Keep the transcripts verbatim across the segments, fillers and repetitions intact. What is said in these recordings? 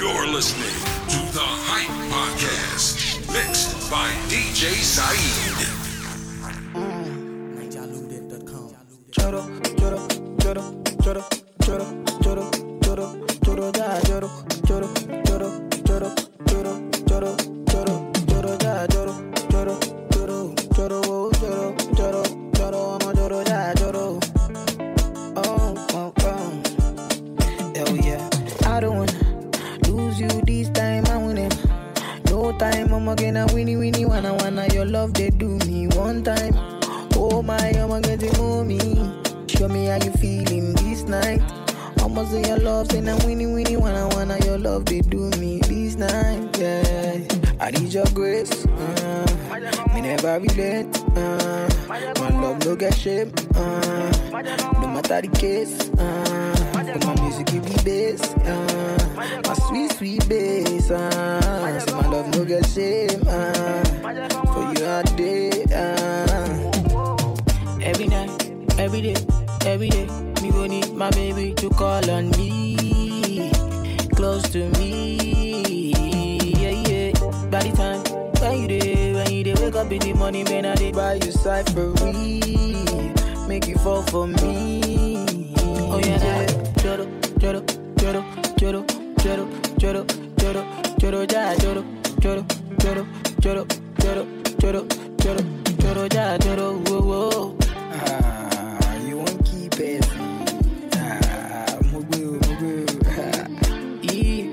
You're listening to the Hype Podcast, mixed by D J Saeed. Choro, choro, choro, choro, choro, choro, choro, choro, da, choro, choro, choro, choro, choro, choro, choro, choro, da, choro, choro, choro, choro, oh, choro, choro, choro, I'm a choro, da, choro. Oh, oh, oh. Hell yeah. I don't wanna lose you this time, I win it. No time, I'm gonna winnie, winnie, wanna, wanna. Your love, they do me one time. Oh my, I'm gonna move me. Show me how you feeling this night. Almost in your love, say now winnie, winnie, wanna, wanna. Your love, they do me this night, yeah. I need your grace, uh, me never regret, uh, my love no get shame, uh, no matter the case, uh, but my music give me bass, uh, my sweet, sweet bass, uh, so my love no get shame, uh, for you all day, uh. Every night, every day, every day, me gon' need my baby to call on me, close to me, yeah, yeah. By the time, when you dey, when you dey wake up in the morning, man, I dey buy you cyphery, make you fall for me, oh yeah, yeah. Choro, choro, choro, choro, choro, choro, choro, choro, ja, choro, choro, choro, choro, choro, choro, choro, choro, ja, choro, whoa, whoa. Ah, you won't keep it. Ah, mugu, mugu. Yeah.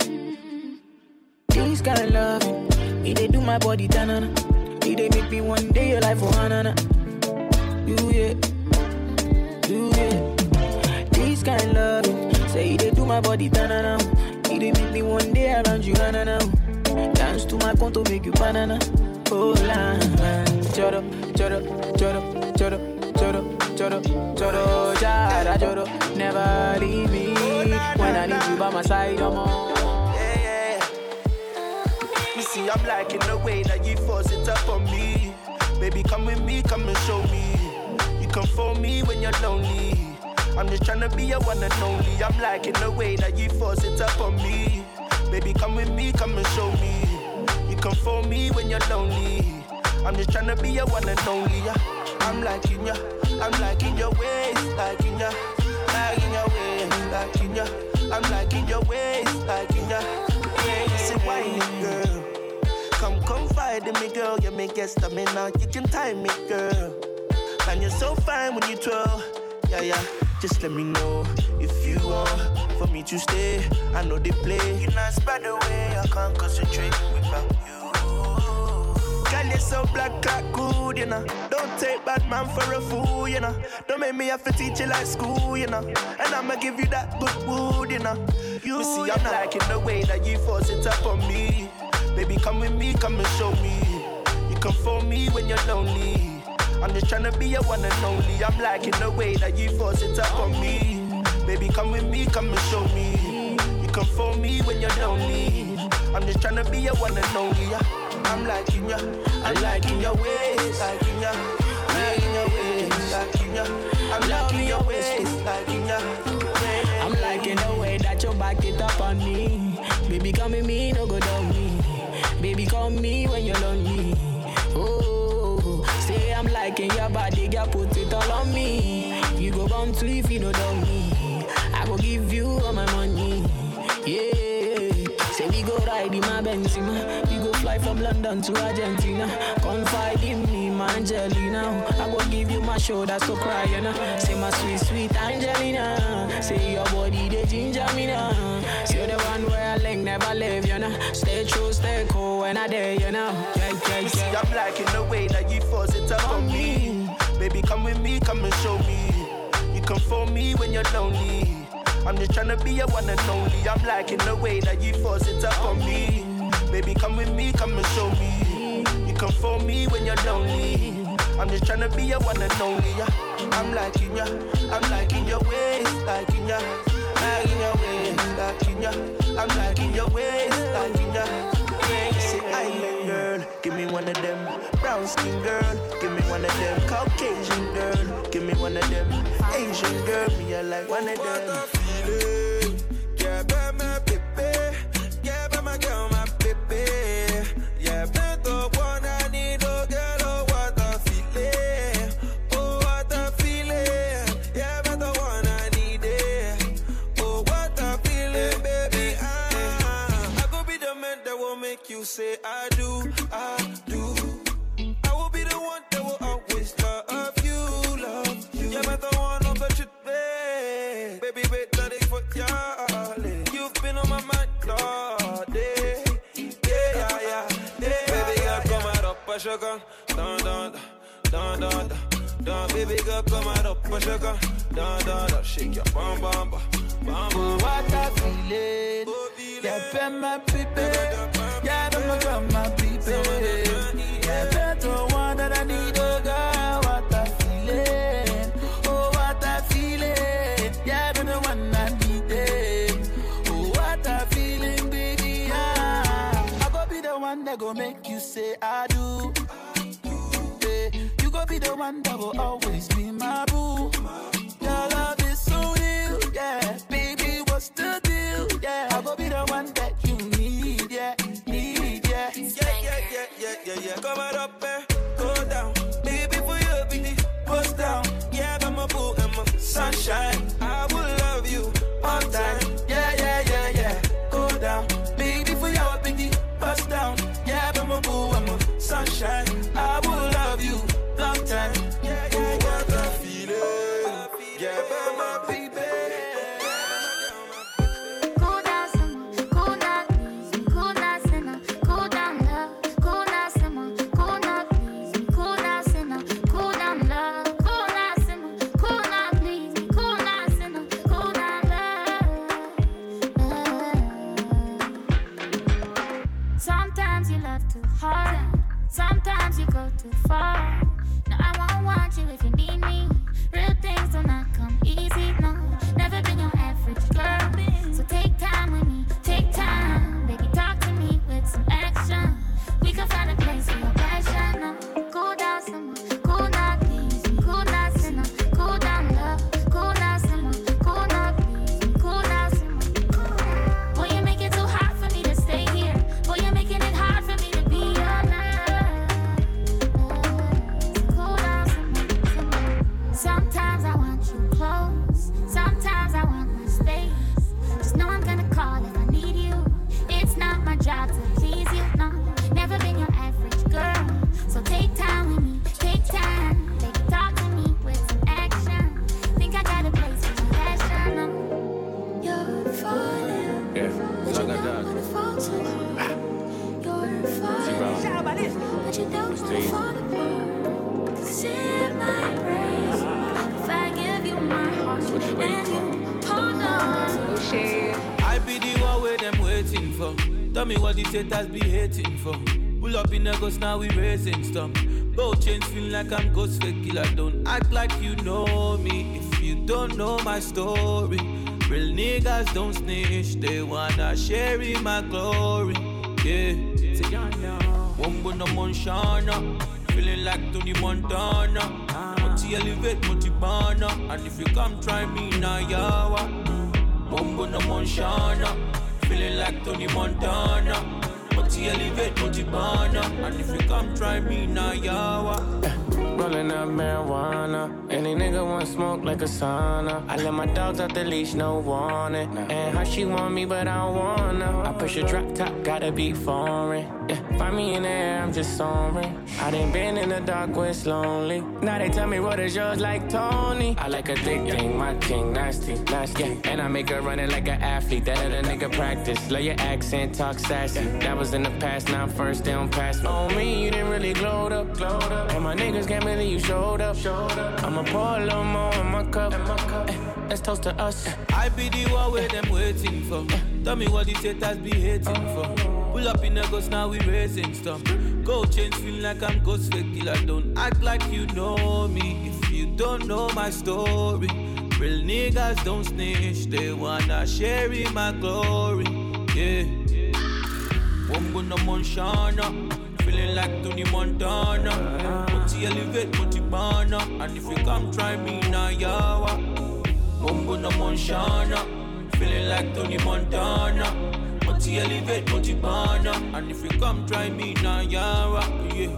This kind of love, it they do my body tanana. It they make me one day your life for hanana. You yeah, you yeah. This kind of love, say it they do my body tanana. It they make me one day around you hanana. Dance to my conto make you banana. Oh la, choro, choro, choro, choro. Choro, choro, choro, jara, choro. Never leave me when I need you by my side, I'm on. Yeah, yeah. You see, I'm liking the way that you force it up on me. Baby, come with me, come and show me. You come for me when you're lonely. I'm just tryna be your one and only. I'm liking the way that you force it up on me. Baby, come with me, come and show me. You come for me when you're lonely. I'm just tryna be your one and only. Yeah. I'm liking ya, I'm liking your ways, liking ya, liking your ways, liking ya. I'm liking your ways, liking ya. Yeah, say whiny girl, come confide in me, girl. You may get stamina, you can time me, girl. And you're so fine when you twirl, yeah, yeah. Just let me know if you want for me to stay. I know they play, you're not spread away. I can't concentrate without you. Girl, you're so black, like good, you know. Don't take bad man for a fool, you know. Don't make me have to teach you like school, you know. And I'ma give you that good wood, you know. You, you see, I'm liking the way that you force it up on me. Baby, come with me, come and show me. You come for me when you're lonely. I'm just tryna be your one and only. I'm liking the way that you force it up on me. Baby, come with me, come and show me. You come for me when you're lonely. I'm just tryna be your one and only. Yeah. I'm liking ya, I'm liking your ways, liking ya, liking your ways, liking ya. I'm liking your ways, liking ya. I'm liking the way that you back it up on me. Baby, come with me, no go down me. Baby, call me when you're lonely. Oh, say I'm liking your body, girl, put it all on me. You go bound to if you know down me. I go give you all my money. Yeah, say we go ride in my Benzema. We go fly from London to Argentina. Confide in me, my Angelina. I go give you my shoulder, so cry, you know. Say my sweet, sweet Angelina. Say your body, they ginger me now. You're the one where I like never leave, you know. Stay true, stay cool when I dare, you know. Yeah, yeah, yeah. See, I'm liking the way that you force it up on me. Baby, come with me, come and show me. You come for me when you're lonely. I'm just tryna be your one and only. I'm liking the way that you force it up on me. Baby, come with me, come and show me. You come for me when you're lonely. I'm just tryna be your one and only. Yeah. I'm liking ya, I'm liking your ways, liking ya, liking your ways, liking ya. I'm liking your ways, liking ya. Yeah, say island girl, give me one of them. Brown skin girl, give me one of them. Caucasian girl, give me one of them. Asian girl, me I like one of them. Yeah, baby, baby, yeah, sugar. Down, down, down, down, down. Baby girl, come out up, push sugar. Down, down, down. Shake your bum, bum, bum, bum. Oh, what a feeling. Yeah, ben my baby. Yeah, don't go my baby. Yeah, better one that I need, oh girl. What a feeling. Oh, what a feeling. Yeah, don't the one I need it. Oh, what a feeling, baby. Yeah. I go be the one that go make you say I do. Yeah, you go be the one that will always be my boo. Your love is so real, yeah. Baby, what's the deal? Yeah, I go be the one that you need, yeah, need, yeah. Yeah, yeah, yeah, yeah, yeah, yeah. Come on up, eh? Go down, baby, for you, baby. Bust down, yeah, I'm a boo, I'm a sunshine. I will love you all time. Yeah, yeah, yeah, yeah. Go down, baby, for your baby. Bust down, yeah, I'm a boo, I'm a sunshine. I will love you long time. Yeah, yeah, yeah. What a feeling, yeah, but my baby. Cool down, simmer, cool down, please. Cool down, sinner, cool down, love. Cool down, simmer, cool down, please. Cool down, sinner, cool down, love. Cool down, simmer, cool down, please. Cool down, sinner, cool down, love. Sometimes you love too hard. Sometimes you go too far. No, I won't want you if you need me. Real things do not come easy, no. Never been your average girl. So take time with me, take time. Baby, talk to me with some action. We can find a place for your passion, no. Cool down, simmer, cool down, please. Cool down, sinner, cool down, love. Cool down, simmer, cool down, please. Cool down, simmer. Boy, you make it too hard for me to stay here. Boy, you're making it hard for me to be your love. Cool down, simmer, simmer. Sometimes I want you close. Sometimes I want my space. Just know I'm gonna call if I need you. It's not my job to please you, no. Never been your average girl. So take time with me, take time. Baby, talk to me with some action. Think I got a place for your passion, no. You're falling. Yeah, But so I you got don't that. wanna fall too hard. You're falling. But you don't wanna Steve. fall apart. 'Cause it might break if I give you my heart what you waiting and you hold on. I be the one where them waiting for. Tell me what the haters be hating for. Pull up in a ghost, now we racing stuff. Both chains feel like I'm ghost fake killer. Don't act like you know me if you don't know my story. Real niggas don't snitch, they wanna share in my glory. Yeah, say ya now. Wombo no Monshana, feeling like Tony Montana. Multi elevate, multi banner, and if you come try me now, yawa. Wombo no Monshana, feeling like Tony Montana. Multi elevate, multi banner, and if you come try me now, yawa. Rolling up marijuana. Any nigga want smoke like a sauna. I let my dogs out the leash, no warning. And how she want me, but I don't wanna. I push a drop top, gotta be foreign. Yeah, find me in the air, I'm just soaring. I done been in the dark where it's lonely. Now they tell me what is yours like Tony. I like a thick thing, my king, nasty, nasty. Yeah, and I make her running like an athlete. That other nigga practice. Love your accent, talk sassy. That was in the past, now I'm first, they don't pass me. On me, you didn't really glowed up, glowed up. And my niggas can't believe you showed up, showed up. I'ma pour a little more in my cup. Eh, let's toast to us. I be the one where them waiting for. Tell me what the haters be hating for. Pull up in a ghost, now we racing stuff. Gold chains feel like I'm ghost fake killer. Don't act like you know me if you don't know my story. Real niggas don't snitch, they wanna share in my glory. Yeah, Wombo no Monshana, feeling like Tony Montana. Multi elevate, multi banner, and if you come try me now, yawa. Wombo no Monshana, feeling like Tony Montana. Multi elevate, multi banner, and if you come try me now, yawa. Yeah.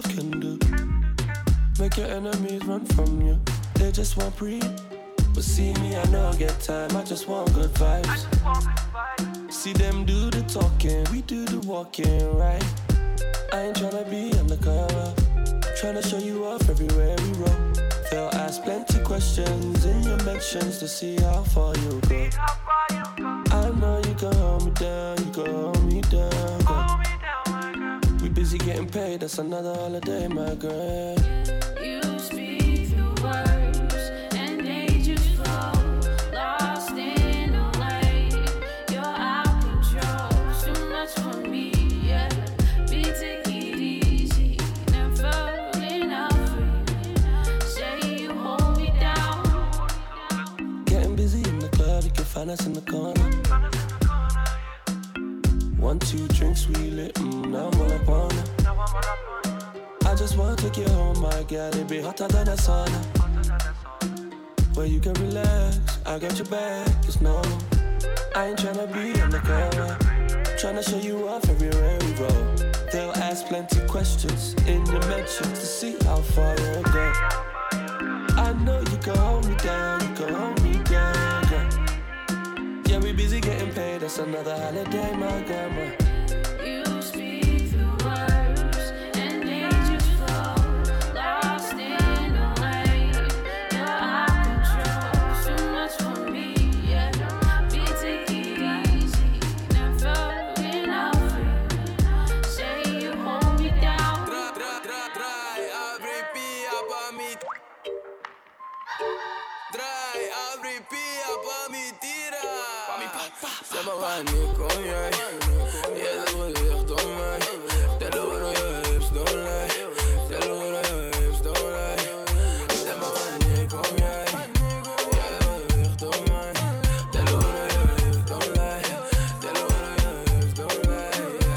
love can do. Make your enemies run from you. They just want breathe. But see me, I know I get time. I just want good vibes. See them do the talking, we do the walking, right? I ain't tryna be undercover. Tryna show you off everywhere we roll. They'll ask plenty questions in your mentions to see how far you go. I know you can hold me down, you can hold me down, girl. We busy getting paid, that's another holiday, my girl. You speak the words and they just flow. Lost in a lake, you're out control. Too much for me, yeah. Be take it easy, never enough free. Say you hold me down. Getting busy in the club, you can find us in the corner. One, two drinks, we lit, mm, now I'm all up on it. I just wanna take you home, my girl, it be hotter than a sauna. Where you can relax, I got your back, it's normal. I ain't tryna be undercover, tryna show you off everywhere we roll. They'll ask plenty questions in your mentions to see how far you'll go. I know you can hold me down, you can hold me down, girl. Yeah, we busy getting paid, that's another holiday, my grandma. You speak the words and they just flow. Lost in a lake, you're out control. Too much for me, yeah. Be take it easy, never enough free. Say you hold me down. Draai, abri pia pa mi. Draai, abri pia pa mi tira. Zeg maar wanneer kom jij? Ja, dat wordt echt door mij. Tell her what your hips don't lie. Tell her what your hips don't lie. Zeg maar wanneer kom jij? Ja, dat wordt echt door mij. Tell her what your hips don't lie. Tell her what your hips don't lie.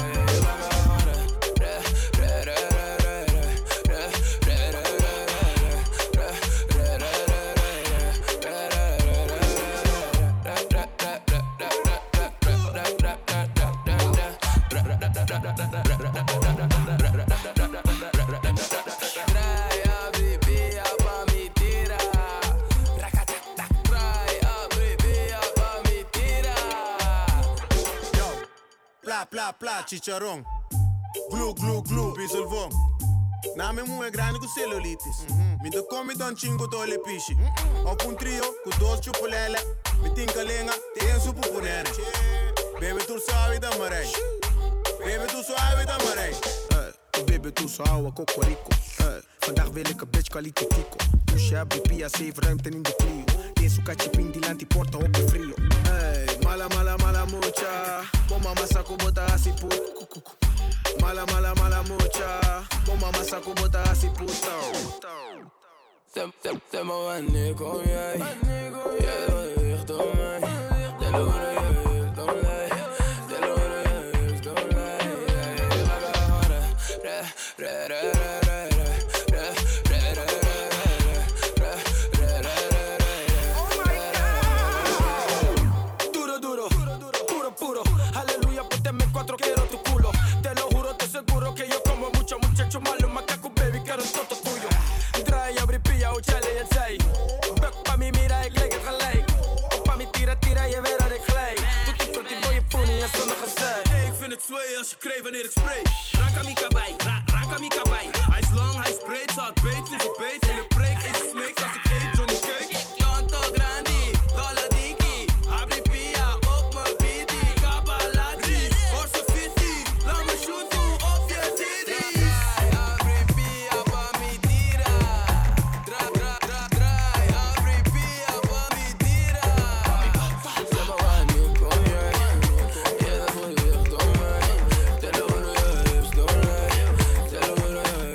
Pla pla pla chicharrón. Glue glue glue bisolvon. Na me mu é grande com celulitis. Me do come don chingo tole pichi. Op un trio com dos chupulele. Me tinka lenga tem su pupunere. Baby tu sabe da marei. Baby tu sabe da marei. Hey, baby tu sabe cocorico. Hey, vandaag wil ik een bitch kwaliteit tico. Pusha bipia save ruimte in de Clio. Deze kachipin die lanti porta op je frio. Hey, mala mala mala mucha. Bo mama saco bota así puta. Mala mala mala mucha. Bo mama saco bota así puta. Zeg maar wanneer kom jij? Ja, dat wordt echt door mij. Tell her what your hips don't lie. Tell her what your hips don't lie. Ra ra ra ra ra ra ra ra ra ra. Duro duro, puro puro. Aleluya, pónteme cuatro, quiero tu culo. Te lo juro, te seguro que yo como mucho muchacho malo, macaco baby, quiero todo tuyo. Draai, abri pia, o chale het zij. Buk pa mi mira, ik lijk het gelijk. Op pa mi tira tira, je weet dat ik gelijk. Doet die fruit, die boy je pony en zonder gezeik. Hey, ik vind het sway als je kreeg wanneer ik spray. Rakamika bij, ra rakamika bij. Hij is lang, hij is breed, zat beet, voel ze beet. Hele preek, eet de snakes als ik eet Johnny Cake. Tonto grandi, dollar dinky. Abri pia, op mijn bidi. Kabalati, orso fiti. Laat me shooten op je titty. Abri pia pa mi tira. Dra dra dra draai, abri pia pa mi tira. Zeg maar wanneer kom jij? Ja, dat wordt echt door mij. Tell her what your hips don't lie. Tell her what your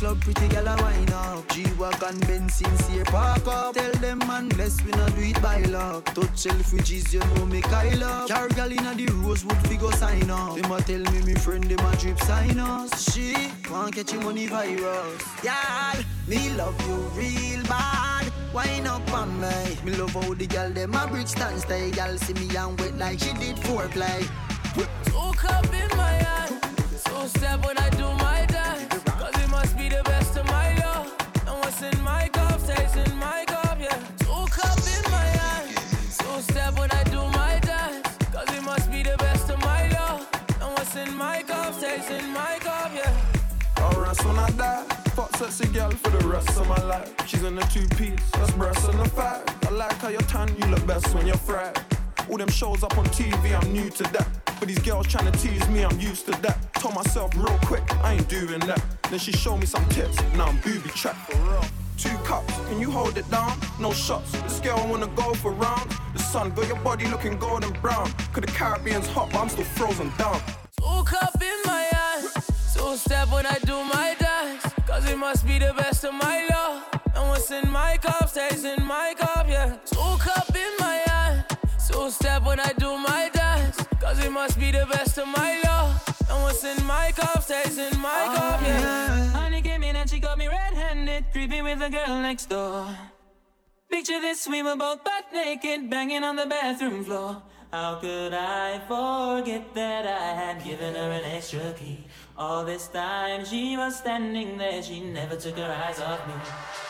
love pretty gal a wine up. G-Wagon, Benz, sincere park up. Tell them man, bless we not do it by luck. Touch Selfridges, you know me Kyle up. Car gal inna the Rosewood, fi go sign up. Them a tell me me friend, them a drip sign us. She want catch him money virus. Y'all, me love you real bad. Wine up on me. Me love how the gal them a brick stand stay. Gal see me and wet like she did foreplay. Two cup in my hand, so step when I do my dance. Cause it must be the best of my love. And what's in my cup stays in my cup, yeah. Two cup in my hand, so step when I do my dance. Cause it must be the best of my love. And what's in my cup stays in my cup, yeah. Alright, when I die, fuck sexy girl for the rest of my life. She's in a two-piece, that's breasts and a fat. I like how you're tan, you look best when you're fried. All them shows up on T V, I'm new to that. But these girls tryna tease me, I'm used to that. Told myself real quick, I ain't doing that. Then she showed me some tips, now I'm booby trapped for real. Two cups, can you hold it down? No shots, this girl wanna go for rounds. The sun got your body looking golden brown. Cause the Caribbean's hot, but I'm still frozen down. Two cup in my hand, so step when I do my dance. Cause it must be the best of my love. And what's in my cup stays in my cup, yeah. Two cup in my hand, so step when I do my dance. Cause it must be the best of my love. And what's in my cup stays in my oh, cup, yeah. yeah. Honey came in and she got me red-handed, creeping with the girl next door. Picture this, we were both butt naked, banging on the bathroom floor. How could I forget that I had given her an extra key? All this time she was standing there, she never took her eyes off me.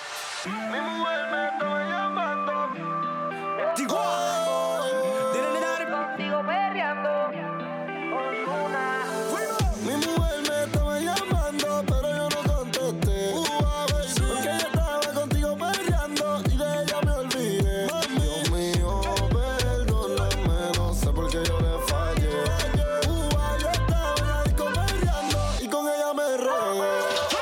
Digo perreando, Ozuna. Mi mujer me estaba llamando, pero yo no contesté. Uh, baby, porque yo estaba contigo perreando y de ella me olvidé. Mami, Dios mío, perdóname, no sé por qué yo le fallé. Uh, yo estaba en la disco perreando y con ella me regué.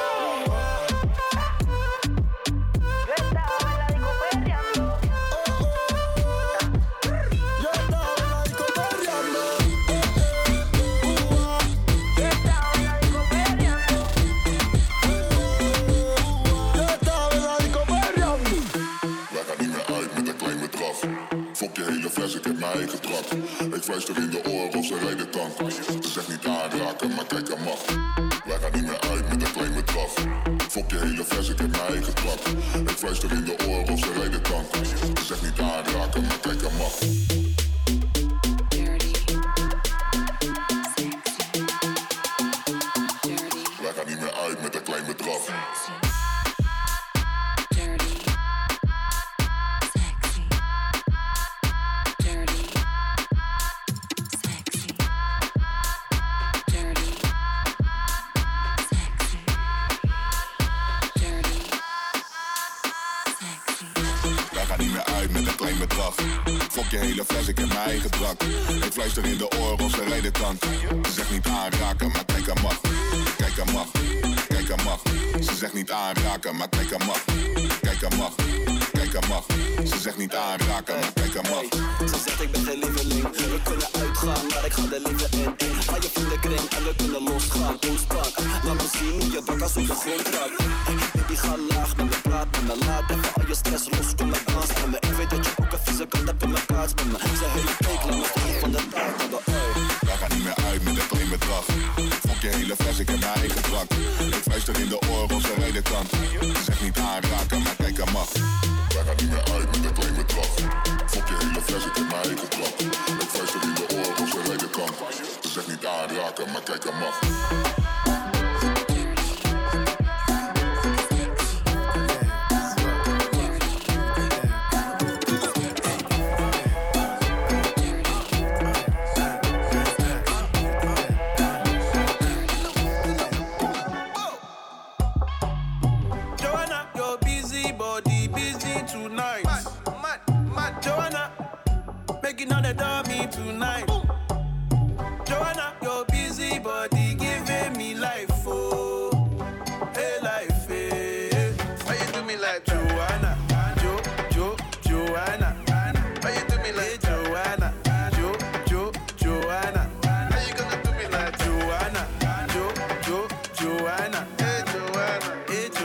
Ik heb mijn eigen trap. Ik fluister in de oren of ze rijden tank. Ze zegt niet aanraken, maar kijk aan mag. Wij gaan niet meer uit met een klein bedrag. Fok je hele vers, ik heb mijn eigen trap. Ik fluister in de oren of ze rijden tank. Ze zegt niet aanraken, maar kijk aan mag. Wij gaan niet meer uit met een klein bedrag. Fok je hele fles, ik heb mijn eigen drank. Ik fluister in de oren of ze rijden tank. Ze zegt niet aanraken, maar kijk aan mag. Kijk aan mag, kijk aan mag. Ze zegt niet aanraken, maar kijk aan mag. Kijk aan mag, kijk aan mag. Ze zegt niet aanraken, maar kijk aan mag. Ze zegt ik ben geen lieveling. We kunnen uitgaan, maar ik ga er liever in. Ga je vriendenkring en we kunnen losgaan. Oestak, laat me zien hoe je bak als op de grond raakt. Baby ga laag met me, praat met me. Laat even al je stress los, kom met dans met me. Ik weet dat je ook een vieze kant hebt in mijn kaats met me. Ze hele week lang met de van de taart hebben. Wij gaan niet meer uit met een klein bedrag. Fok je hele fles, ik heb mijn eigen drank. Ik fluister in de oren of ze rijden tank. Ze zegt niet aanraken, maar kijk aan mag. Wij gaan niet meer uit met een klein bedrag. Fok je hele fles, ik heb mijn eigen drank. Ik fluister in de oren of ze rijden tank. Ze zegt niet aanraken, maar kijk aan mag. Another dummy tonight. Joanna, your busy body giving me life, oh, hey life, hey. Why you do me like Joanna, Jo, Jo, Joanna? Why you do me like Joanna, Jo, Jo, Joanna? How you gonna do me like Joanna, Jo, Jo, Joanna? Hey Joanna, hey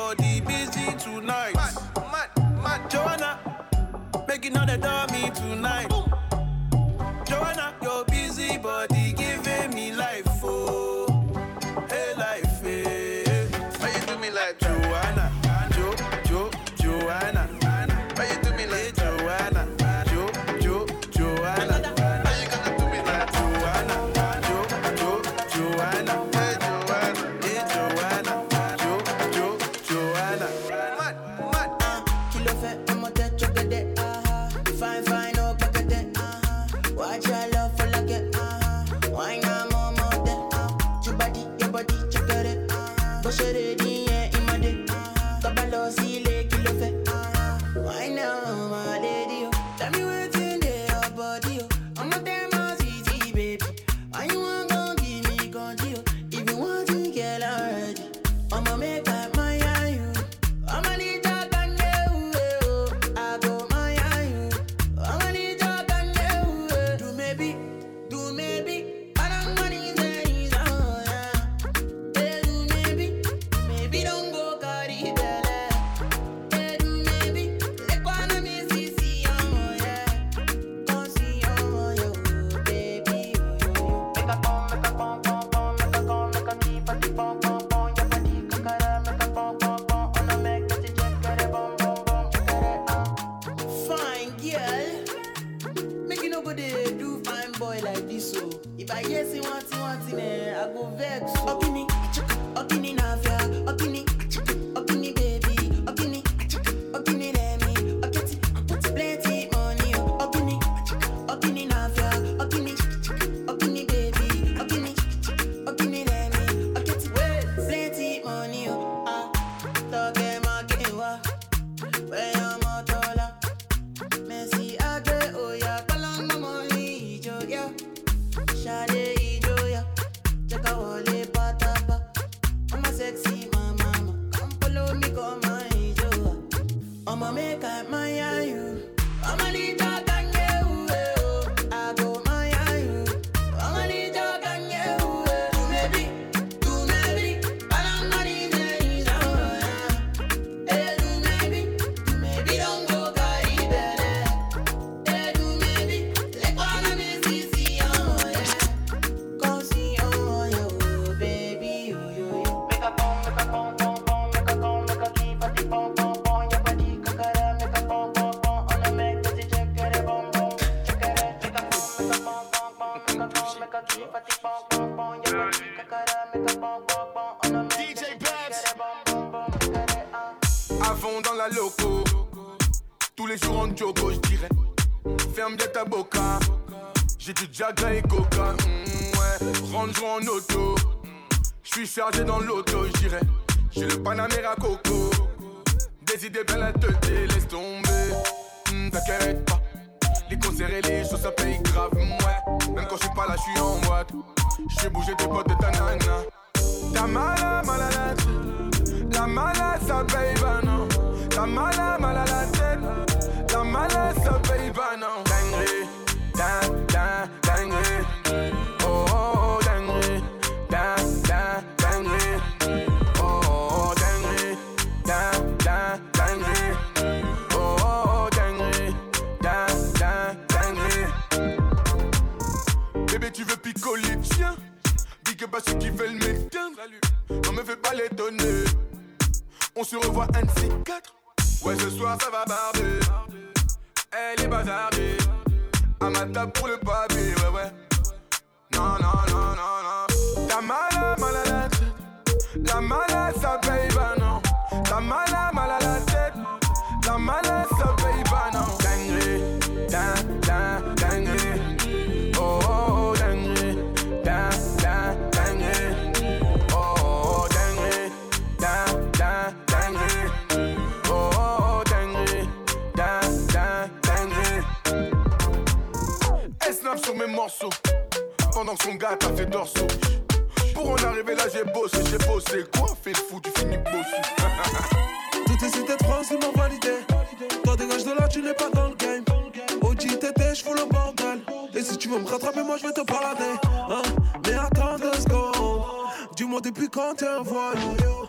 body busy tonight. Mad, mad, mad. Joanna, making all the dummy tonight. Boom. Joanna, your busy body giving me life, oh, hey life, hey. Why you do me like Joanna, Jo, Jo, Joanna? Why you do me like Joanna, Jo, Jo, Joanna? Why you gonna do me like Joanna, Jo, Jo, Joanna? Hey Joanna, hey Joanna, Jo, Jo, Joanna. Mad, mad. Uh, kilo fait, I'm a tête, check it, uh-huh. Fine, fine, oh, back at it, uh-huh. Watch your love for like it, uh-huh. Why not more, more than, uh your body, your body, check it, uh-huh. Push it in, yeah, in my day, uh-huh. Kabalo, see, le, kilo fait, uh-huh. Why now, my lady, oh. Tell me what's in there, your body, oh. I'm a damn easy, baby. Why you want gon' give me control? If you want to get already, I'ma make up my eye, you. I'ma need your gun, you. I go my eye, you. I'ma need your gun, you. Do maybe, do maybe. I don't want it, it's oh, yeah. Hey, do maybe, maybe don't go carry belly. Hey, do maybe, let go on me, see, see, oh, yeah. Come see, oh, yo, baby, oh, yo. Make a pom, make a pom, pom, pom, make a pom, make a keep a deep pom, pom, pom. Your body, kakara, make a pom, pom, pom. On a make that you check, get it, bom, bom, bom, check it, uh. Fine girl, make you nobody do fine boy like this, so if I hear say one thing, one thing, eh, I go vex. So. Okini, okini nafia, okini, okini baby, okini, okini lemi, okiti, plenty money, oh. Okini, okini nafia, okini, okini baby, okini, okini lemi, okiti, plenty money, oh. Ah, toge makewa, where I'm a tola, Messi age oya, kalanga money ijo ya, shade ijo ya, cheka wale patapa, I'm a sexy mama, come follow me, come my ijo, I'ma make up my eye, you, I'ma need your gun, you, I go my eye, you, I'ma need your gun, you, do maybe, do maybe, I don't know these days, oh yeah. Hey, do maybe, do maybe don't go carry belly. Hey, do maybe, let go on me, see, see, oh yeah. Come see, oh yo, baby, oh yo yo. Make a pom, make a pom, pom, pom, make a pom, make a keep a deep pom, pom, pom. Your body, kakara, make a pom, pom, pom. On a make that you check it, bom, bom, check it. Make a pom, make a pom, pom, pom, make a pom, make a keep a deep pom, pom, pom. Your body, kakara, make a pom, pom, pom. On a make that you check it, bom, bom, bom, check it, uh. À fond dans la loco, tous les jours en jogo, je dirais. Ferme bien ta boca, j'ai du Jaga et Coca. Mm, ouais, range en auto, je suis chargé dans l'auto, je dirais. J'ai le Panamera Coco, des idées plein la tête, laisse tomber. Mm, T'inquiète pas, les concerts et les choses ça paye grave. Mm, ouais, même quand je suis pas là, je suis en boîte. J'ai bougé tes potes de ta nana. Ta mala, mal à la tête. La malade, ça paye pas, non. La malade, mal à la tête. La malade, ça paye pas, non. Dinguerie, ding, ding, dinguerie. Oh, oh, oh, dinguerie. Ding, ding, dinguerie. Oh, oh, dinguerie. Ding, ding, dinguerie. Oh, oh, dinguerie. Ding, ding, dinguerie. Bébé, tu veux picoler, tiens. Big up à ceux qui veulent m'éteindre. Non, me fais pas les donner. On se revoit un de ces quatre. Ouais, ce soir ça va barber. Elle est bazardée. À ma table pour le papier, ouais, ouais. Non, non, non, non, non. Ta malade, mal à la tête. La malade, ça paye pas, non. Ta malade, mal à la tête. La malade, ça paye pas, non. Dinguerie, ding, ding, dinguerie. Oh, oh, oh, dinguerie. Ding, ding, dinguerie. Oh, oh, dinguerie. Ding, ding, dinguerie. Oh, oh, dinguerie. Ding, ding, dinguerie. Elle snap sur mes morceaux pendant que son gars t'a fait dorso. Pour en arriver là, j'ai bossé, j'ai bossé. Quoi, fais le fou, tu finis bossu. Tout est cité de France, ils m'ont validé. Toi, dégage de là, tu n'es pas dans le game. O G T T, j'fous le bordel. Et si tu veux me rattraper, moi je vais te balader. Hein? Mais attends deux secondes. Dis-moi depuis quand t'es un voyou. Tu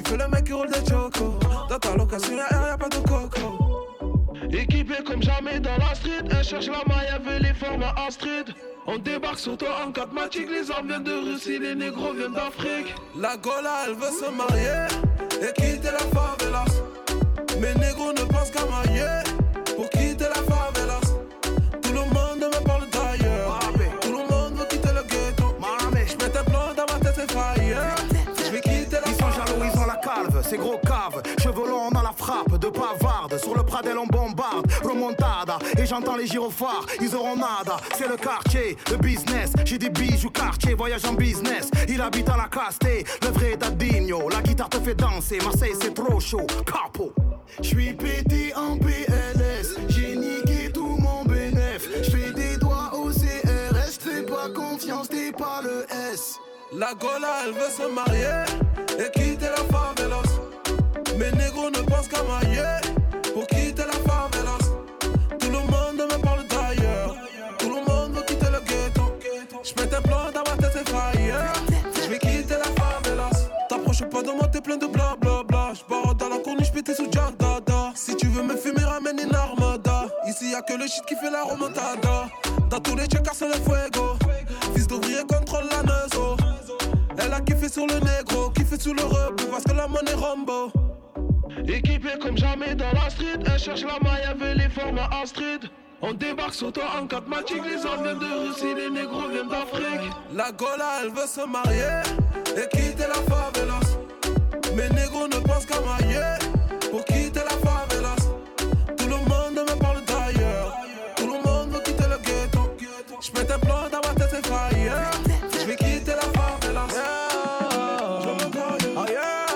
fais le mec qui roule des chocos. Dans ta location y'a air, y'a pas de coco. Équipé comme jamais dans la street, elle cherche la maille, elle veut les formats Astrid. On débarque sur toi en quatre matic, les armes viennent de Russie, les négros viennent d'Afrique. La Gola, elle veut se marier et quitter la favelas. Mes négros ne pensent qu'à mailler pour quitter la favelas. Tout le monde me parle d'ailleurs, tout le monde veut quitter le ghetto. J'mets un plan dans ma tête, c'est fire. J'vais quitter la Ils sont jaloux, ils ont la calve, c'est gros cave. Chevelons, on a la frappe de pavarde. Sur le Pradel, on bombarde, remontada. Et j'entends les gyrophares, ils auront nada. C'est le quartier, le business. J'ai des bijoux quartier, voyage en business. Il habite à la Casté, le vrai Dadinho. La guitare te fait danser, Marseille c'est trop chaud. Capo. J'suis pété en P L S, j'ai niqué tout mon bénéf. J'fais des doigts au C R S, j'fais pas confiance, t'es pas le S. La Gola, elle veut se marier et quitter la favelas. Mes négros ne pensent qu'à mailler pour quitter la favelas. Tout le monde me parle d'ailleurs, tout le monde veut quitter le ghetto. J'mets un plan dans ma tête, c'est fire. J'vais quitter la favelas. T'approches pas de moi, t'es plein de blablabla. J'barre dans la corniche, pété sous Jack Dada. Si tu veux me fumer, ramène une armada. Ici y'a que le shit qui fait la remontada. Dans tous les checkers, c'est le fuego. Fils d'ouvrier contrôle la neuzo. Elle a kiffé sur le négro, kiffé sur le rebeu parce que la monnaie Rambo. Équipé comme jamais dans la street, elle cherche la maille, elle veut les formats Astrid. On débarque sur toi en quatre matic, les armes viennent de Russie, les négros viennent d'Afrique. La Gola, elle veut se marier et quitter la favelas. Mes négros ne pensent qu'à mailler pour quitter la favelas. Tout le monde me parle d'ailleurs, tout le monde veut quitter le ghetto. J'mets un plan dans ma tête, c'est fire. J'vais quitter la favelas. Yeah. Oh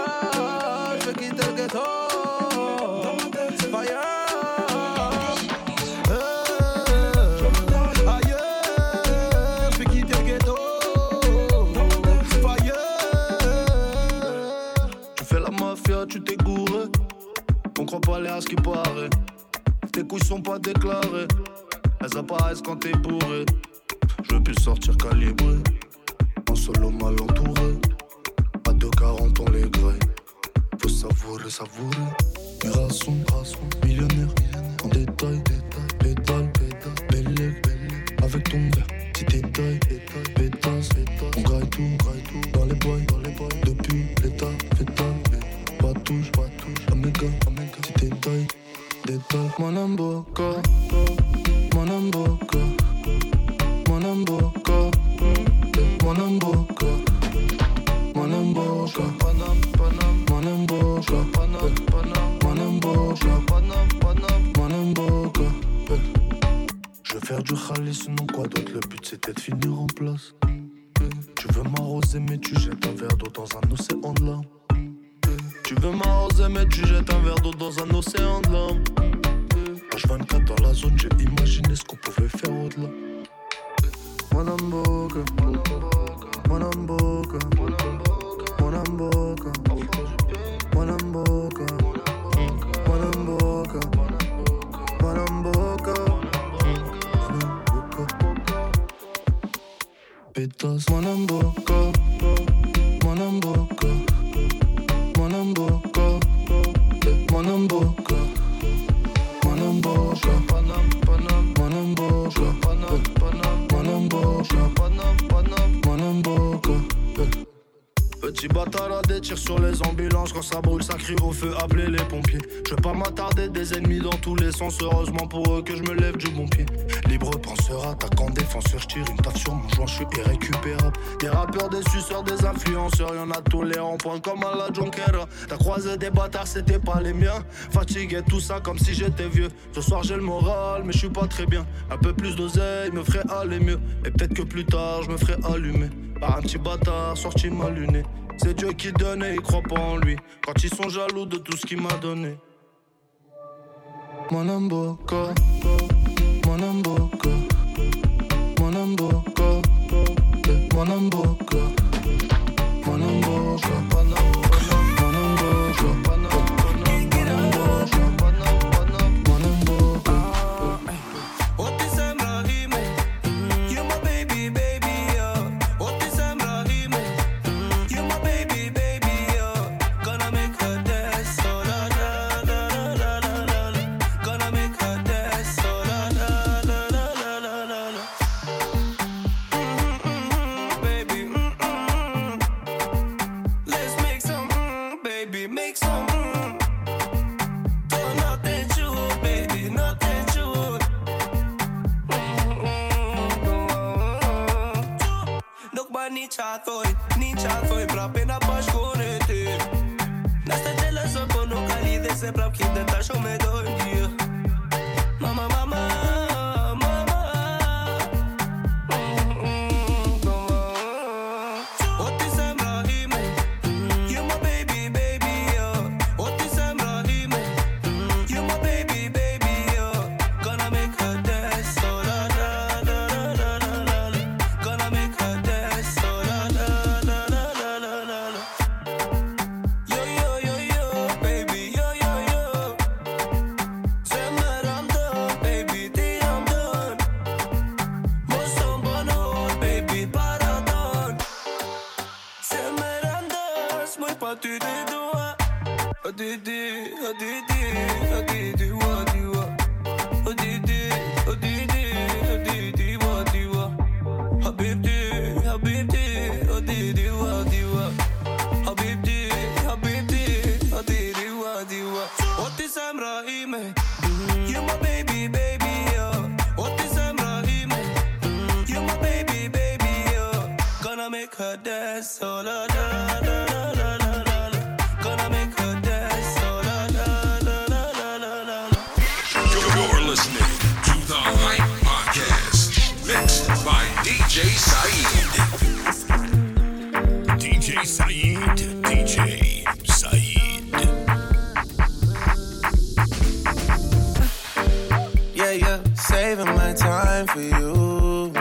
yeah. J'vais quitter le ghetto. Dans ma tête, c'est fire. Tu t'es gouré, on croit pas les à ce qui paraît. Tes couilles sont pas déclarées, elles apparaissent quand t'es bourré. Je veux plus sortir calibré, en solo mal entouré. À deux quarante on les graille, faut savourer, savourer. Mirason, millionnaire, en détail, pétale, belle, avec ton verre, petit détail, pétasse, on graille tout, dans les boys, depuis l'état, fétal. Pas touche, pas touche, Omega, Omega, petit détail, détail. Mon amboka, mon amboka, mon amboka, mon amboka, mon amboka, panam, panam, mon amboka, panam, panam, mon amboka, panam, panam, mon amboka. Je veux faire du khalis, sinon quoi d'autre, le but c'était de finir en place. Tu veux m'arroser mais tu jettes un verre d'eau dans un océan de larmes. Tu veux m'arroser mais tu jettes un verre d'eau dans un océan de larmes. H vingt-quatre dans la zone, j'ai imaginé ce qu'on pouvait faire au-delà. Mon amboka, mon amboka, mon amboka, mon amboka, mon amboka, mon amboka, pétasse, mon amboka, mon amboka. Mon amboka, mon amboka, mon amboka, panam, panam, mon amboka, panam, panam, mon amboka, panam, panam, mon amboka. Petit bâtard à des tirs sur les ambulances. Quand ça brûle, ça crie au feu, appelez les pompiers. Je veux pas m'attarder, des ennemis dans tous les sens. Heureusement pour eux que je me lève du bon pied. Libre penseur, attaquant, défenseur, je tire une taf sur mon joint, je suis irrécupérable. Des rappeurs, des suceurs, des influenceurs, y'en a tous les ronds-points comme à la Jonquera. T'as croisé des bâtards, c'était pas les miens. Fatigué, tout ça comme si j'étais vieux. Ce soir j'ai le moral, mais je suis pas très bien. Un peu plus d'oseille me ferait aller mieux. Et peut-être que plus tard, je me ferais allumer par un petit bâtard sorti mal luné. C'est Dieu qui donne et il croit pas en lui. Quand ils sont jaloux de tout ce qu'il m'a donné. Mon amboka, mon amboka, mon amboka, mon amboka, mon amboka, mon Gonna make Niet chat voor je, niet chat voor je, brap in dat pas gewoon het uur. Nasta jealous op een okali, deze brap geeft de tas om me door je. Mama, mama, mama. What is Ibrahim? You my baby, baby, yo. What is Ibrahim? You my baby, baby, yo. Gonna make her dance, so la la la la la la la. Gonna make her dance. Didi, oh Didi, oh Didi, what do you want? Oh Didi, oh Didi, oh Didi, what do you want? Habibti, Habibti, oh Didi, what do you want? Habibti, Habibti, oh Didi, what do you want? What is Ibrahim? You my baby, baby, yo. What is Ibrahim? You my baby, baby, yo. Gonna make her dance, oh la la la la la la. Gonna make her dance. Listening to the Hype Podcast, mixed by D J Saeed. D J Saeed, D J Saeed. Yeah, yeah, saving my time for you.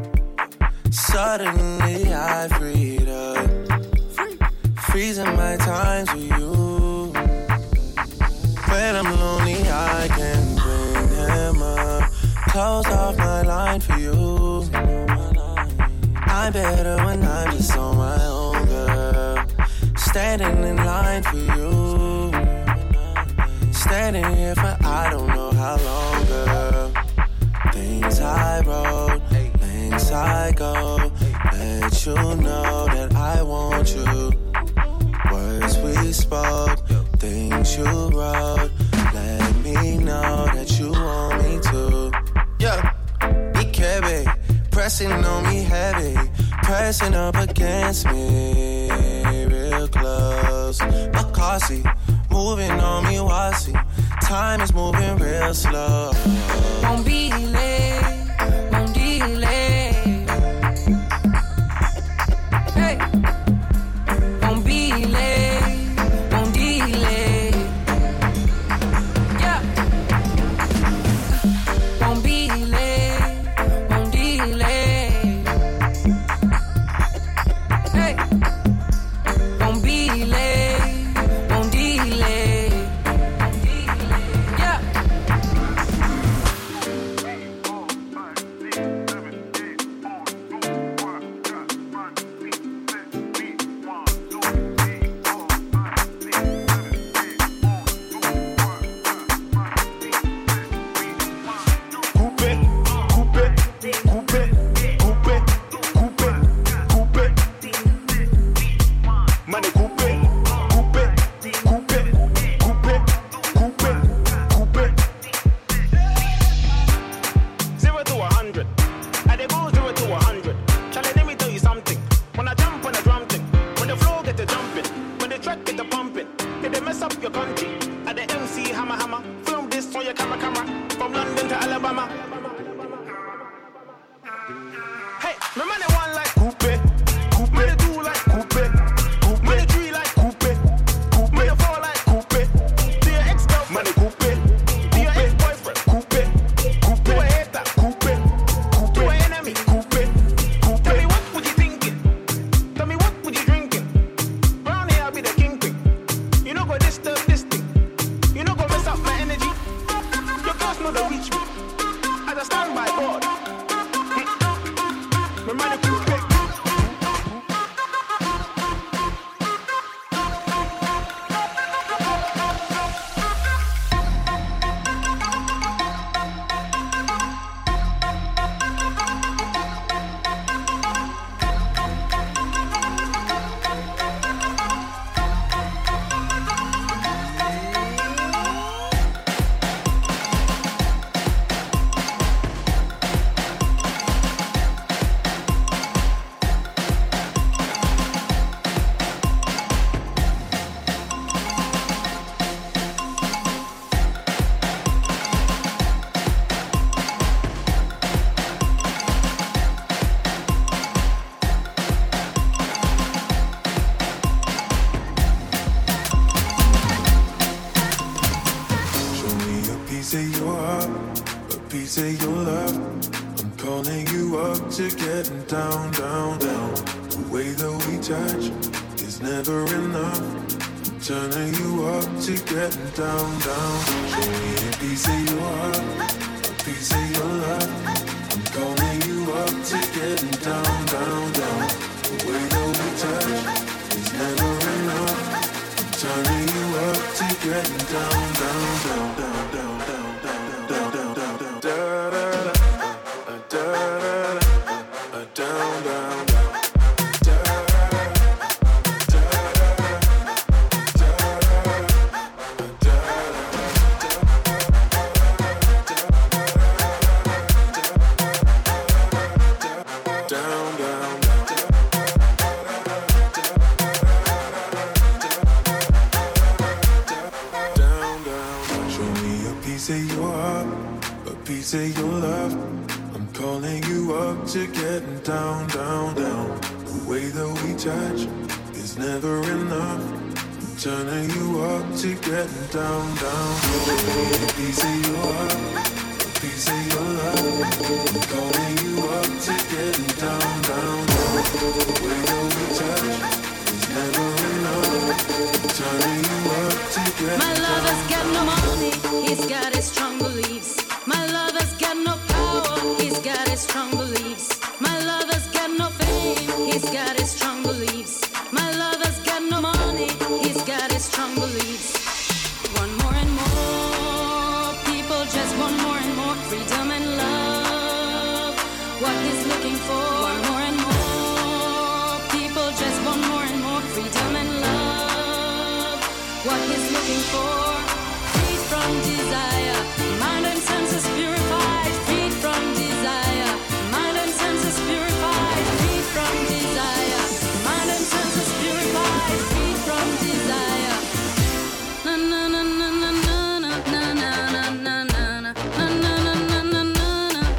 Suddenly I freed up, freezing my times with you. When I'm lonely, I can bring him up. Close off my line for you. I'm better when I'm just on my own, girl. Standing in line for you. Standing here for I don't know how long, girl. Things I wrote, things I go. Let you know that I want you. Words we spoke, things you wrote. Let me know that you want me to. Yeah, Ikebe, pressing on me heavy, pressing up against me, real close. Makasi, moving on me wasi. Time is moving real slow. Won't be late, won't delay. Hey, won't be late, won't delay. Yeah, won't be late, won't delay. Hey, won't be late, won't delay. Yeah. Zero to a hundred. I dey go zero to a hundred. Charlie, let me tell you something. When I jump on a drum thing, when the flow get to jumping, when the track get to pumping, it dey mess up your country. At the M C hammer hammer, film this on your camera camera. From London to Alabama. Hey, my man they one like coupe, coupe. Man they two like coupe, coupe. Man they three like coupe, coupe. Man they four like coupe. To your ex-girlfriend, man they coupe. To your ex-boyfriend, coupe, coupe. To a hater, coupe, coupe. To an enemy, coupe, coupe. Tell me what would you thinking? Tell me what would you drinking? Round here I'll be the kingpin. You know go disturb this thing. You know go mess up my energy. Your girls know they reach me. As I stand by God. My man is coupe. heart, a piece of your love. I'm calling you up to getting down, down, down. The way that we touch is never enough. I'm turning you up to getting down, down. Show me a piece of your heart, a piece of your love. I'm calling you up to getting down, down, down. The way that we touch is never enough. I'm turning you up to getting down, down, down, down, down, down, down, down, down, down, down, da da da, da da da, down, down, down. Say your love, I'm calling you up to getting down, down, down. The way that we touch is never enough. I'm turning you up to getting down, down. A piece of your heart, a piece of your love. I'm calling you up to getting down, down, down. The way that we touch is never enough. I'm turning you up to getting My down, lover's got no down. money, he's got his strong beliefs. My lover's got no power, he's got his strong beliefs. My lover's got no fame, he's got his strong beliefs. My lover's got no money, he's got his strong beliefs. One more and more, people just want more and more freedom and love. What he's looking for. One more and more, people just want more and more freedom and love. What he's looking for. Freed from desire, mind and senses purified. Freed from desire, mind and senses purified. Freed from desire, mind and senses purified. Freed from desire. Na na na na na na na na na na na na na na na na na.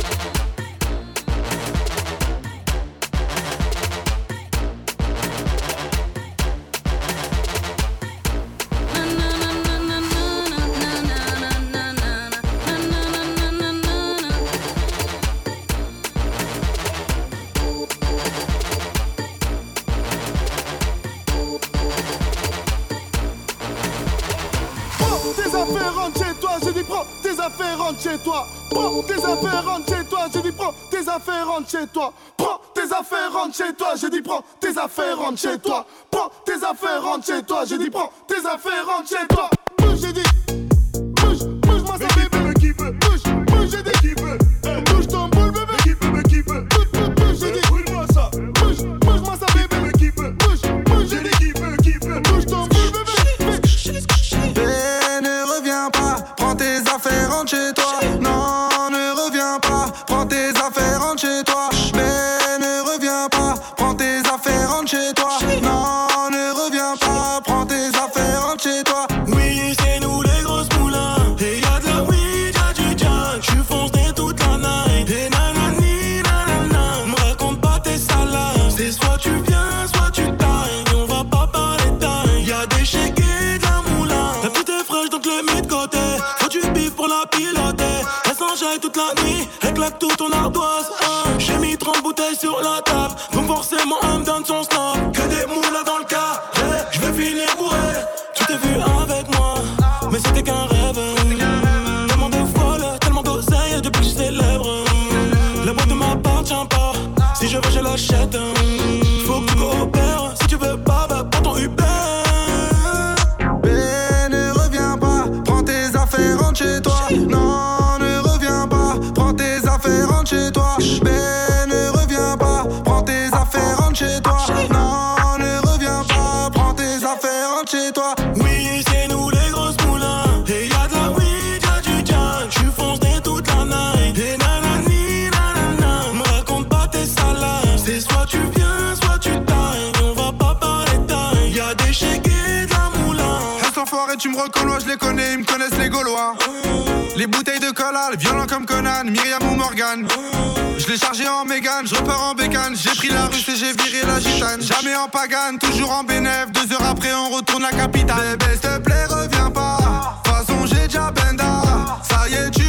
rentre chez toi. Prends tes affaires, rentre chez toi. J'ai dit prends tes affaires, rentre chez toi. Prends tes affaires, rentre chez toi. J'ai dit prends tes affaires, rentre chez toi. Prends tes affaires, rentre chez toi. J'ai dit prends tes affaires, rentre chez toi. Bouge, j'ai dit. Bouge, bouge-moi ça bébé. Qui veut, bouge, bouge, j'ai dit. Qui veut, bouge ton boule bébé. Qui veut, mais qui veut. Bouge, bouge, bouge, j'ai dit. Bouge-moi ça. Bouge, bouge-moi ça bébé. Qui veut, bouge, bouge, j'ai dit. Qui veut, qui veut. Bouge ton boule bébé. Ben ne reviens pas, prends tes affaires, rentre chez toi. Non, ne reviens pas, prends tes affaires, rentre chez toi. Ben ne reviens pas, prends tes affaires, rentre chez toi. Non, ne reviens pas, prends tes affaires, rentre chez toi. Oui, c'est nous les grosses moulins. Et y'a de la weed, y'a du jack. J'suis foncé toute la night. Et nanani, nanana. Me raconte pas tes salades. C'est soit tu viens, soit tu tailles. On va pas parler taille. Y'a des shakes et de la moulin. La petite est fraîche donc le mets de côté. Faut du bif pour la piloter. Elle s'enjaille toute la nuit. Elle claque tout ton ardoise. Hein. J'ai mis trente bouteilles sur la table. Donc forcément elle me donne son snap. Que des moulins dans le cas. Hey, j'vais finir bourré. Tu t'es vu avec moi, mais c'était qu'un rêve. Tellement de folle, tellement d'oseille depuis que je suis célèbre. La boîte ne m'appartient pas. Si je veux, je l'achète. Faut que tu coopères. Si tu veux pas, bah prends ton Uber. Ben ne reviens pas, prends tes affaires, rentre chez toi. Non, ne reviens pas, prends tes affaires, rentre chez toi. Ben ne reviens pas, prends tes affaires, rentre chez toi. Non, ne reviens pas, prends tes affaires, rentre chez toi. Oui, c'est nous les grosses moulins. Et y'a de la weed, y'a du jack. J'suis foncé toute la night. Et nanani, nanana. Me raconte pas tes salades. C'est soit tu viens, soit tu tailles. On va pas parler taille. Y'a des shakes et de la moulin. Reste enfoiré, tu me reconnais, je les connais, ils me connaissent les Gaulois. Les bouteilles de cola, violents comme Conan, Myriam ou Morgan. Je l'ai chargé en Mégane, je repars en bécane. J'ai pris la russe et j'ai viré la gitane. Jamais en pagane, toujours en bénéf. Deux heures après on retourne la capitale. Bébé s'il te plaît reviens pas, de toute façon j'ai déjà benda. Ça y est tu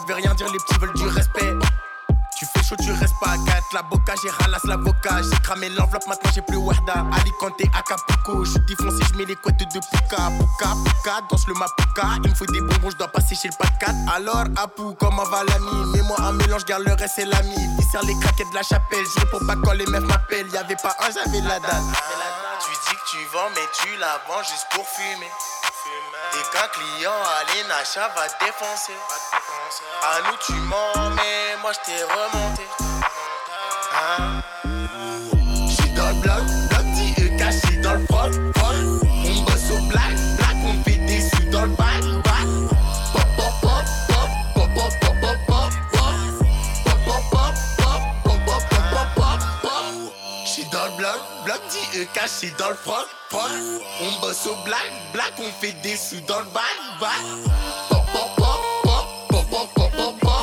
veut rien dire, les petits veulent du respect. Tu fais chaud, tu restes pas à quatre. La boca, j'ai ralasse l'avocat. J'ai cramé l'enveloppe, maintenant j'ai plus Wahda. Alicante, Acapulco. Je suis défoncé, je mets les couettes de Puka. Puka, Puka, danse le Mapuka. Il me faut des bonbons, je dois passer chez le pas de quatre. Alors, Apou, comment va l'ami? Mets-moi un mélange, garde le reste, c'est l'ami. Viscère les craquettes de la chapelle. Je réponds pas quand les meufs m'appellent. Y'avait pas un, j'avais la date. Tu dis que tu vends, mais tu la vends juste pour fumer. Et qu'un client à l'Enacha va te défoncer. À nous tu mens, mais moi je t'ai remonté. Hein? J'suis dans le bloc, bloc dit E K, j'suis dans le froc, froc. On bosse au black, black, on fait des sous dans le bac, bac. Pop, pop, pop, pop, pop, pop, pop, pop, pop. Pop, pop, pop, pop, pop, pop, pop, pop, pop. J'suis dans le bloc, bloc dit E K, j'suis dans le froc, froc. On bosse au black, black, on fait des sous dans le bac, bac. Pop, pop, pop, pop, pop, pop, pop, pop, pop.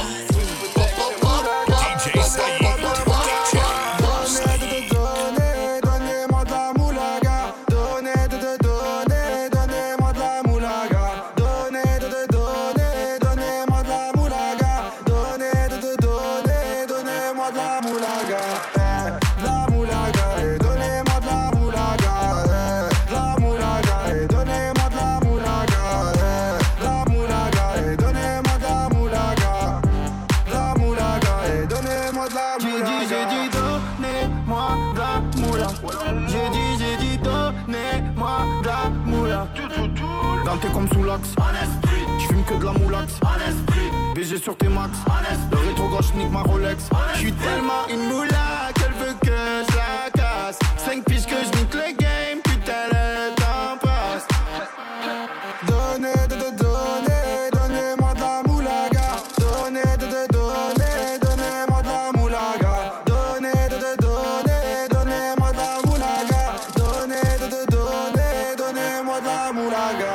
T'es comme sous l'axe, j'fume que de la moulax, B G sur tes max, le rétro gauche nique ma Rolex. J'suis tellement une moula qu'elle veut que je la casse. Cinq piges que je nique le game, putain le temps passe. Donnez, donnez, donnez, donnez-moi de la moulaga. Donnez, donnez, donnez, donnez-moi de la moulaga. Donnez, donnez, donnez, donnez-moi de la moulaga. Donnez, donnez, donnez, donnez-moi de la moulaga.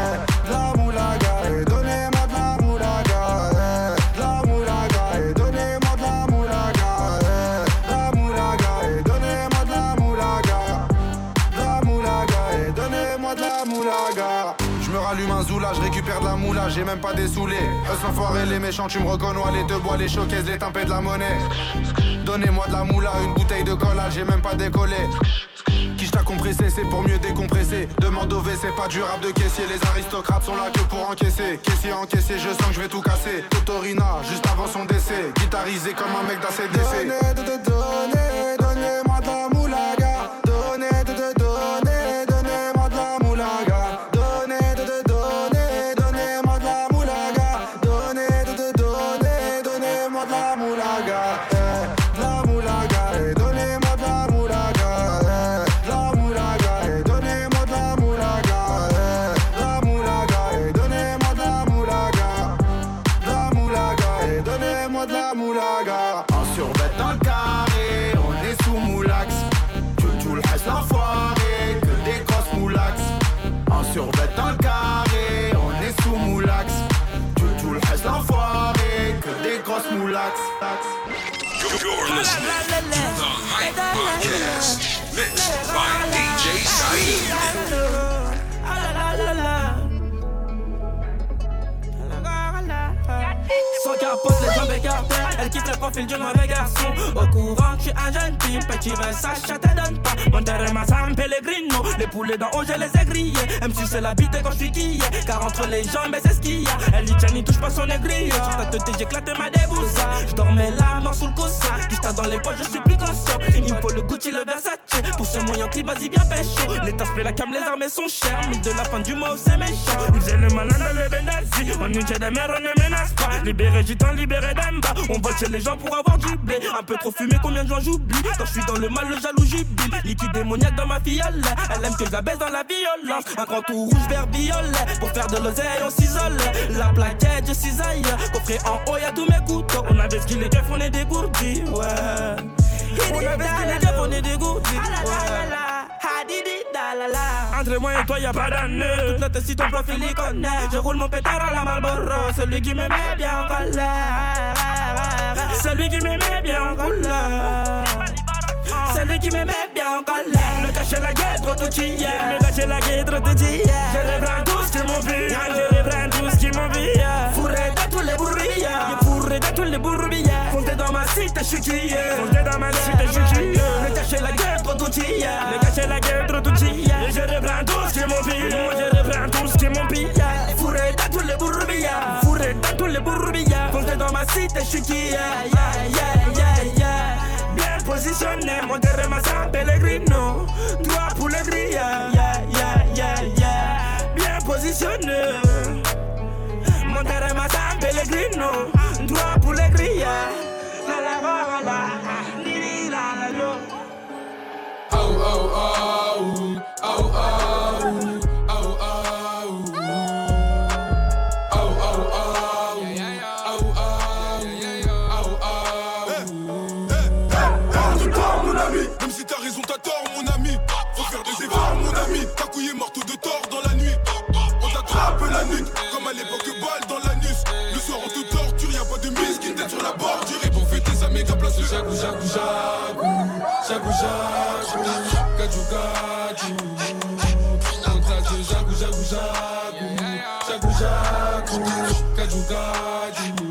Je récupère de la moula, j'ai même pas des saoulés. Eux s'enfoirés, les méchants, tu me reconnais. Les deux bois, les showcases, les tempêtes de la monnaie. Donnez-moi de la moula, une bouteille de cola, j'ai même pas décollé. Qui t'a compressé, c'est pour mieux décompresser. Demande au V, c'est pas du rap de caissier. Les aristocrates sont là que pour encaisser. Caissier encaissé, je sens que je vais tout casser. Totorina, juste avant son décès. Guitarisé comme un mec d'A C D C. Donnez, donnez, donnez, donnez-moi de la moulaga. Donnez, donnez, donnez, donnez-moi de la moulaga. You're listening to the Hype Podcast, mixed by D J Saeed. Sans capote, les jambes écartées, elle quitte le profil du mauvais garçon. Au courant que je suis un jeune type, petit Versace, ça te donne pas. Monterrey, ma San Pellegrino, les poulets dans haut, je les ai grillés. M C c'est la bite quand je suis quillé, car entre les jambes, c'est ce qu'il y a. Elle dit tiens, n'y touche pas son aigri. Sur ta tête, j'éclate ma déboussa. Je dormais la mort sous le coussin, juste dans les poches, je suis plus conscient. Il me faut le Gucci, le Versace, pour ce moyen clip, vas-y bien pécho. Les tasses, la cam, les armes sont chères, mais de la fin du mois, c'est méchant. Ils faisaient le malin dans le Benazzi, on nous dit des mères, on ne menace pas. Libéré gitan, libéré d'Emba. On vole chez les gens pour avoir du blé. Un peu trop fumé, combien de gens j'oublie. Quand je suis dans le mal, le jaloux jubile. Liquide démoniaque dans ma fiole. Elle aime que je la baisse dans la violence. Un grand tout rouge, vert, violet. Pour faire de l'oseille, on s'isole. La plaquette, je cisaille. Coffret en haut, y'a tous mes couteaux. On avait ce qu'il est keufs, on est dégourdis. Ouais. On avait ce qu'il est keufs, on est dégourdis. Ouais. Entre moi et toi y'a pas d'année. Toute notre site ton profil il connaît. Je roule mon pétard à la Marlboro. Celui qui me met bien en colère. Celui qui me met bien en colère. Celui qui me met bien en colère. Le cacher la guette, trop tout y est. Le cacher la guette, trop tout y est. Je reprends tout ce qui m'envie. Je reprends tout ce qui m'envie. Fourré dans tous les bourrillas. Y'a fourré dans tous les bourbillas. Fondé dans ma cité, j'suis qui Fondé dans ma cité, j'suis qui Le cacher la gueule, trop d'outilla. Le cacher la gueule, trop d'outilla. Et je reprends tout ce qui est mon pire. Moi je reprends tout ce qui est mon pire. Fourré dans tous les bourbillas. Fourré dans tous les bourbillas. Fondé dans ma cité, j'suis qui yeah, yeah, yeah, yeah. Bien positionné, mon terrain ma San Pellegrino. Droit pour les grilles, yeah, yeah, yeah, yeah. Bien positionné. Mon terrain ma San Pellegrino. Droit pour les grilles, la la la la la la la la. Oh oh oh, oh oh oh. T'as tort mon ami, faut faire des efforts mon ami. T'as couillé marteau de tort dans la nuit. On t'attrape la nuque, comme à l'époque balle dans l'anus. Le soir on te torture, y'a pas de mise qui t'aide sur la bordure. Et pour fêter sa méga place, jagou jagou jagou. Jagou jagou, gadjou gadjou. On trace de jagou jagou jagou. Jagou jagou, gadjou gadjou.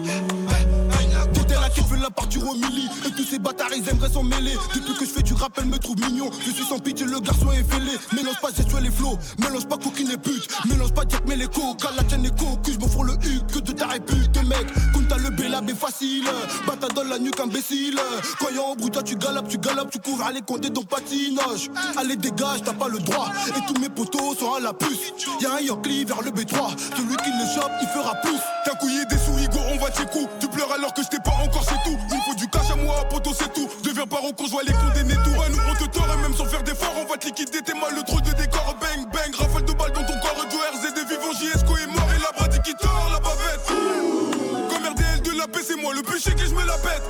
La partir au milli et tous ces bâtards ils aimeraient s'en mêler. Depuis que je fais du rap elle me trouve mignon. Je suis sans pitié le garçon est fêlé. Mélange pas gestuelle les flots, mélange pas coquine et pute. Mélange pas Jack mais les coca, la tienne est cocu. Je m'en fous le huc que de ta répute mec. Comme t'as le bélab est facile. Bata dans la nuque imbécile. Quand y'a un bruit toi tu galopes, tu galopes, tu couvres les compter ton patinage. Allez dégage t'as pas le droit. Et tous mes potos sont à la puce. Y'a un Yankee vers le B trois. Celui qui le chope il fera plus. T'as couillé des sous Igo on va tes coups. Tu pleures alors que je t'ai pas encore c'est tout. Il faut du cash à moi, poto c'est tout. Deviens pas qu'on joue les condamner tout. À nous on te tord et même sans faire d'efforts on va te liquider. T'es mal le trop de décor. Bang bang, rafale de balles dans ton corps. Du R Z des vivants, J S K est mort. Et la bradi qui tord la bavette. Comme R D L de la paix c'est moi le péché que je me la pète.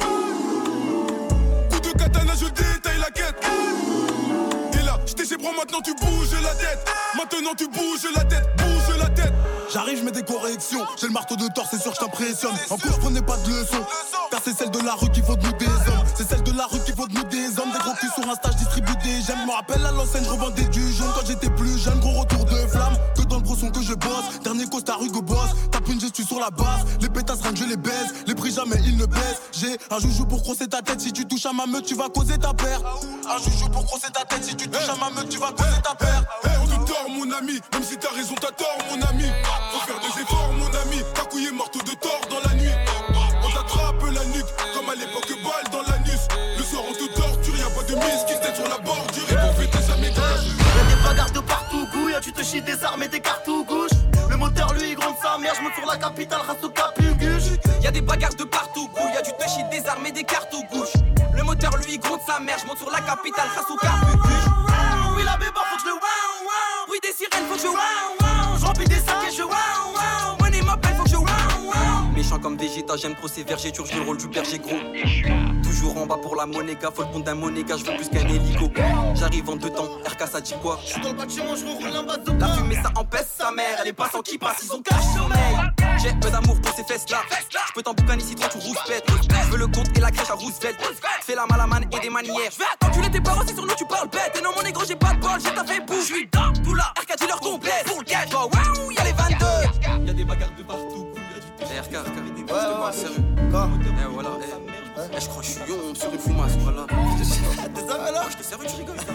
Coup de katana je détaille la quête. Et là, j't'ai chez bras maintenant tu bouges la tête. Maintenant tu bouges la tête, bouge la tête. J'arrive, je mets des corrections. J'ai le marteau de tort, c'est sûr que je t'impressionne. En cours, je prenais pas de leçons. Car c'est celle de la rue qui faut de nous des hommes. C'est celle de la rue qui faut de nous des hommes. Des gros culs sur Insta, je distribue des j'aime. Je me rappelle à l'enseigne, je revendais du jaune quand j'étais plus jeune. Gros retour de flamme, que dans le brosson que je bosse. Dernier costard Hugo Boss, tape une gestu sur la base. Les pétasses rien que je les baise. Les prix jamais ils ne baissent. J'ai un joujou pour crosser ta tête. Si tu touches à ma meute, tu vas causer ta paire. Un joujou pour crosser ta tête. Si tu touches à ma meute, tu vas causer ta paire. Hey, on te tord mon ami, même si t'as raison, t'as tort mon ami. Faut faire des efforts mon ami, t'as couillé marteau de tort dans la nuit. On t'attrape la nuque, comme à l'époque balle dans l'anus. Le soir on te torture, y'a pas de mise qui se tête sur la bordure. Et pour fêter sa méga. Y'a des bagarres de partout, gouille, tu te chies des armes et des cartes ou gauche. Le moteur lui il gronde sa mère, je monte sur la capitale, race au capuguche. Y'a des bagarres de partout, gouille, tu te chies des armes et des cartes ou gauche. Le moteur lui il gronde sa mère, je monte sur la capitale, race au capuguche. Oui la béba faut que je le wow wow. Oui des sirènes faut que je wow wow. Je remplis des sacs et je wow wow. Money m'appelle faut que je wow wow. Méchant comme Vegeta, j'aime trop ces vergers, je joue le rôle du berger gros. Toujours en bas pour la monéga, faut le compte d'un monéga, je veux plus qu'un hélico. J'arrive en deux temps, R K ça dit quoi? J'suis dans le bâtiment, je roule en bas de la fumée ça empêche sa mère, elle est pas sans qui passe, ils ont cache sommeil. J'ai peu d'amour pour ces fesses là. J'peux t'en boucaner si toi tu rouspètes. J'veux le compte et la crèche à Roosevelt. Fais la malamane et des manières. J'vais attendre, tu l'es tes parents, c'est sur nous tu parles bête. Et non mon négro j'ai pas de bol, j'ai ta fait bouffe. J'suis dans tout là, R K dealer complet. Pour le cash, oh waouh, y'a les vingt-deux. Y'a des bagarres de partout. Eh R K, R K, des gosses de moi, sérieux. Quoi? Eh voilà, eh. Eh j'crois que j'suis yon sur une fumasse, voilà. T'es ça alors? J'étais sérieux, tu rigoles.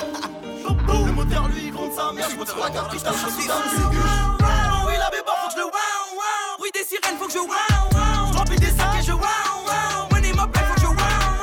Le moteur lui il gronde sa mère, je monte sur la capitale, je suis dans le oui la béba faut que je le wow wow. Oui des sirènes faut que je wow wow. Je remplis des sacs et je wow wow. Money m'appelle faut que je wow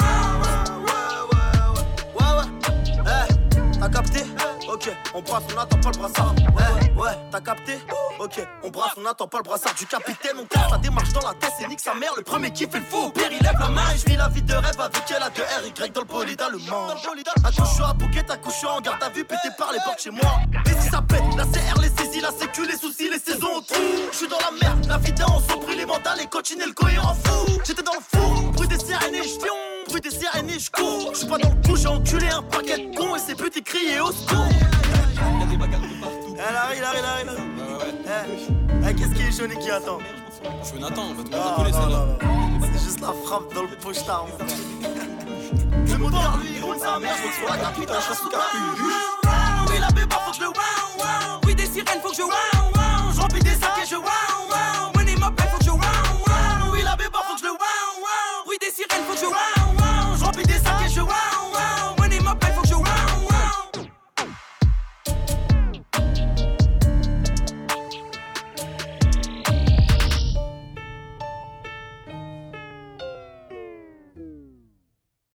wow. Ouais ouais ouais. Eh, t'as capté? Ok, on brasse, on attend pas le brassard. Eh, ouais, t'as capté? Ok, on brasse, on attend pas le brassard du capitaine. On casse la démarche dans la tête, c'est nique sa mère. Le premier qui fait le fou, au pire il lève la main. Et je vis la vie de rêve avec elle, a de R Y dans le bolida, le mange. Accouche à bouquet, accouche en garde à vue, pété par les portes chez moi. Et si ça pète, la C R, les saisies, la sécu, les soucis, les saisons au trou. J'suis dans la merde, la vie en sont pris les mandats, les coachines et le cohérent fou. J'étais dans le four, bruit des sirènes et j'fion. Bruit des sirènes et j'cours. J'suis pas dans le coup, j'ai enculé un paquet de cons et ces petits criés au secours. Y'a des bagarres de partout. Elle arrive, elle arrive, elle arrive. Eh, hey, qu'est-ce qui est jaune et qui attend? Je veux Nathan, on va te appeler celle-là. C'est juste la frappe dans le pochetard. Le moteur lui roule sa mère, je sur la capitale, je suis sous capuche. Oui la béba faut que je le wow wow. Oui des sirènes faut que je wow wow. Je remplis des sacs et je wow wow. Money m'appelle faut que je wow wow. haine, faut jouer round.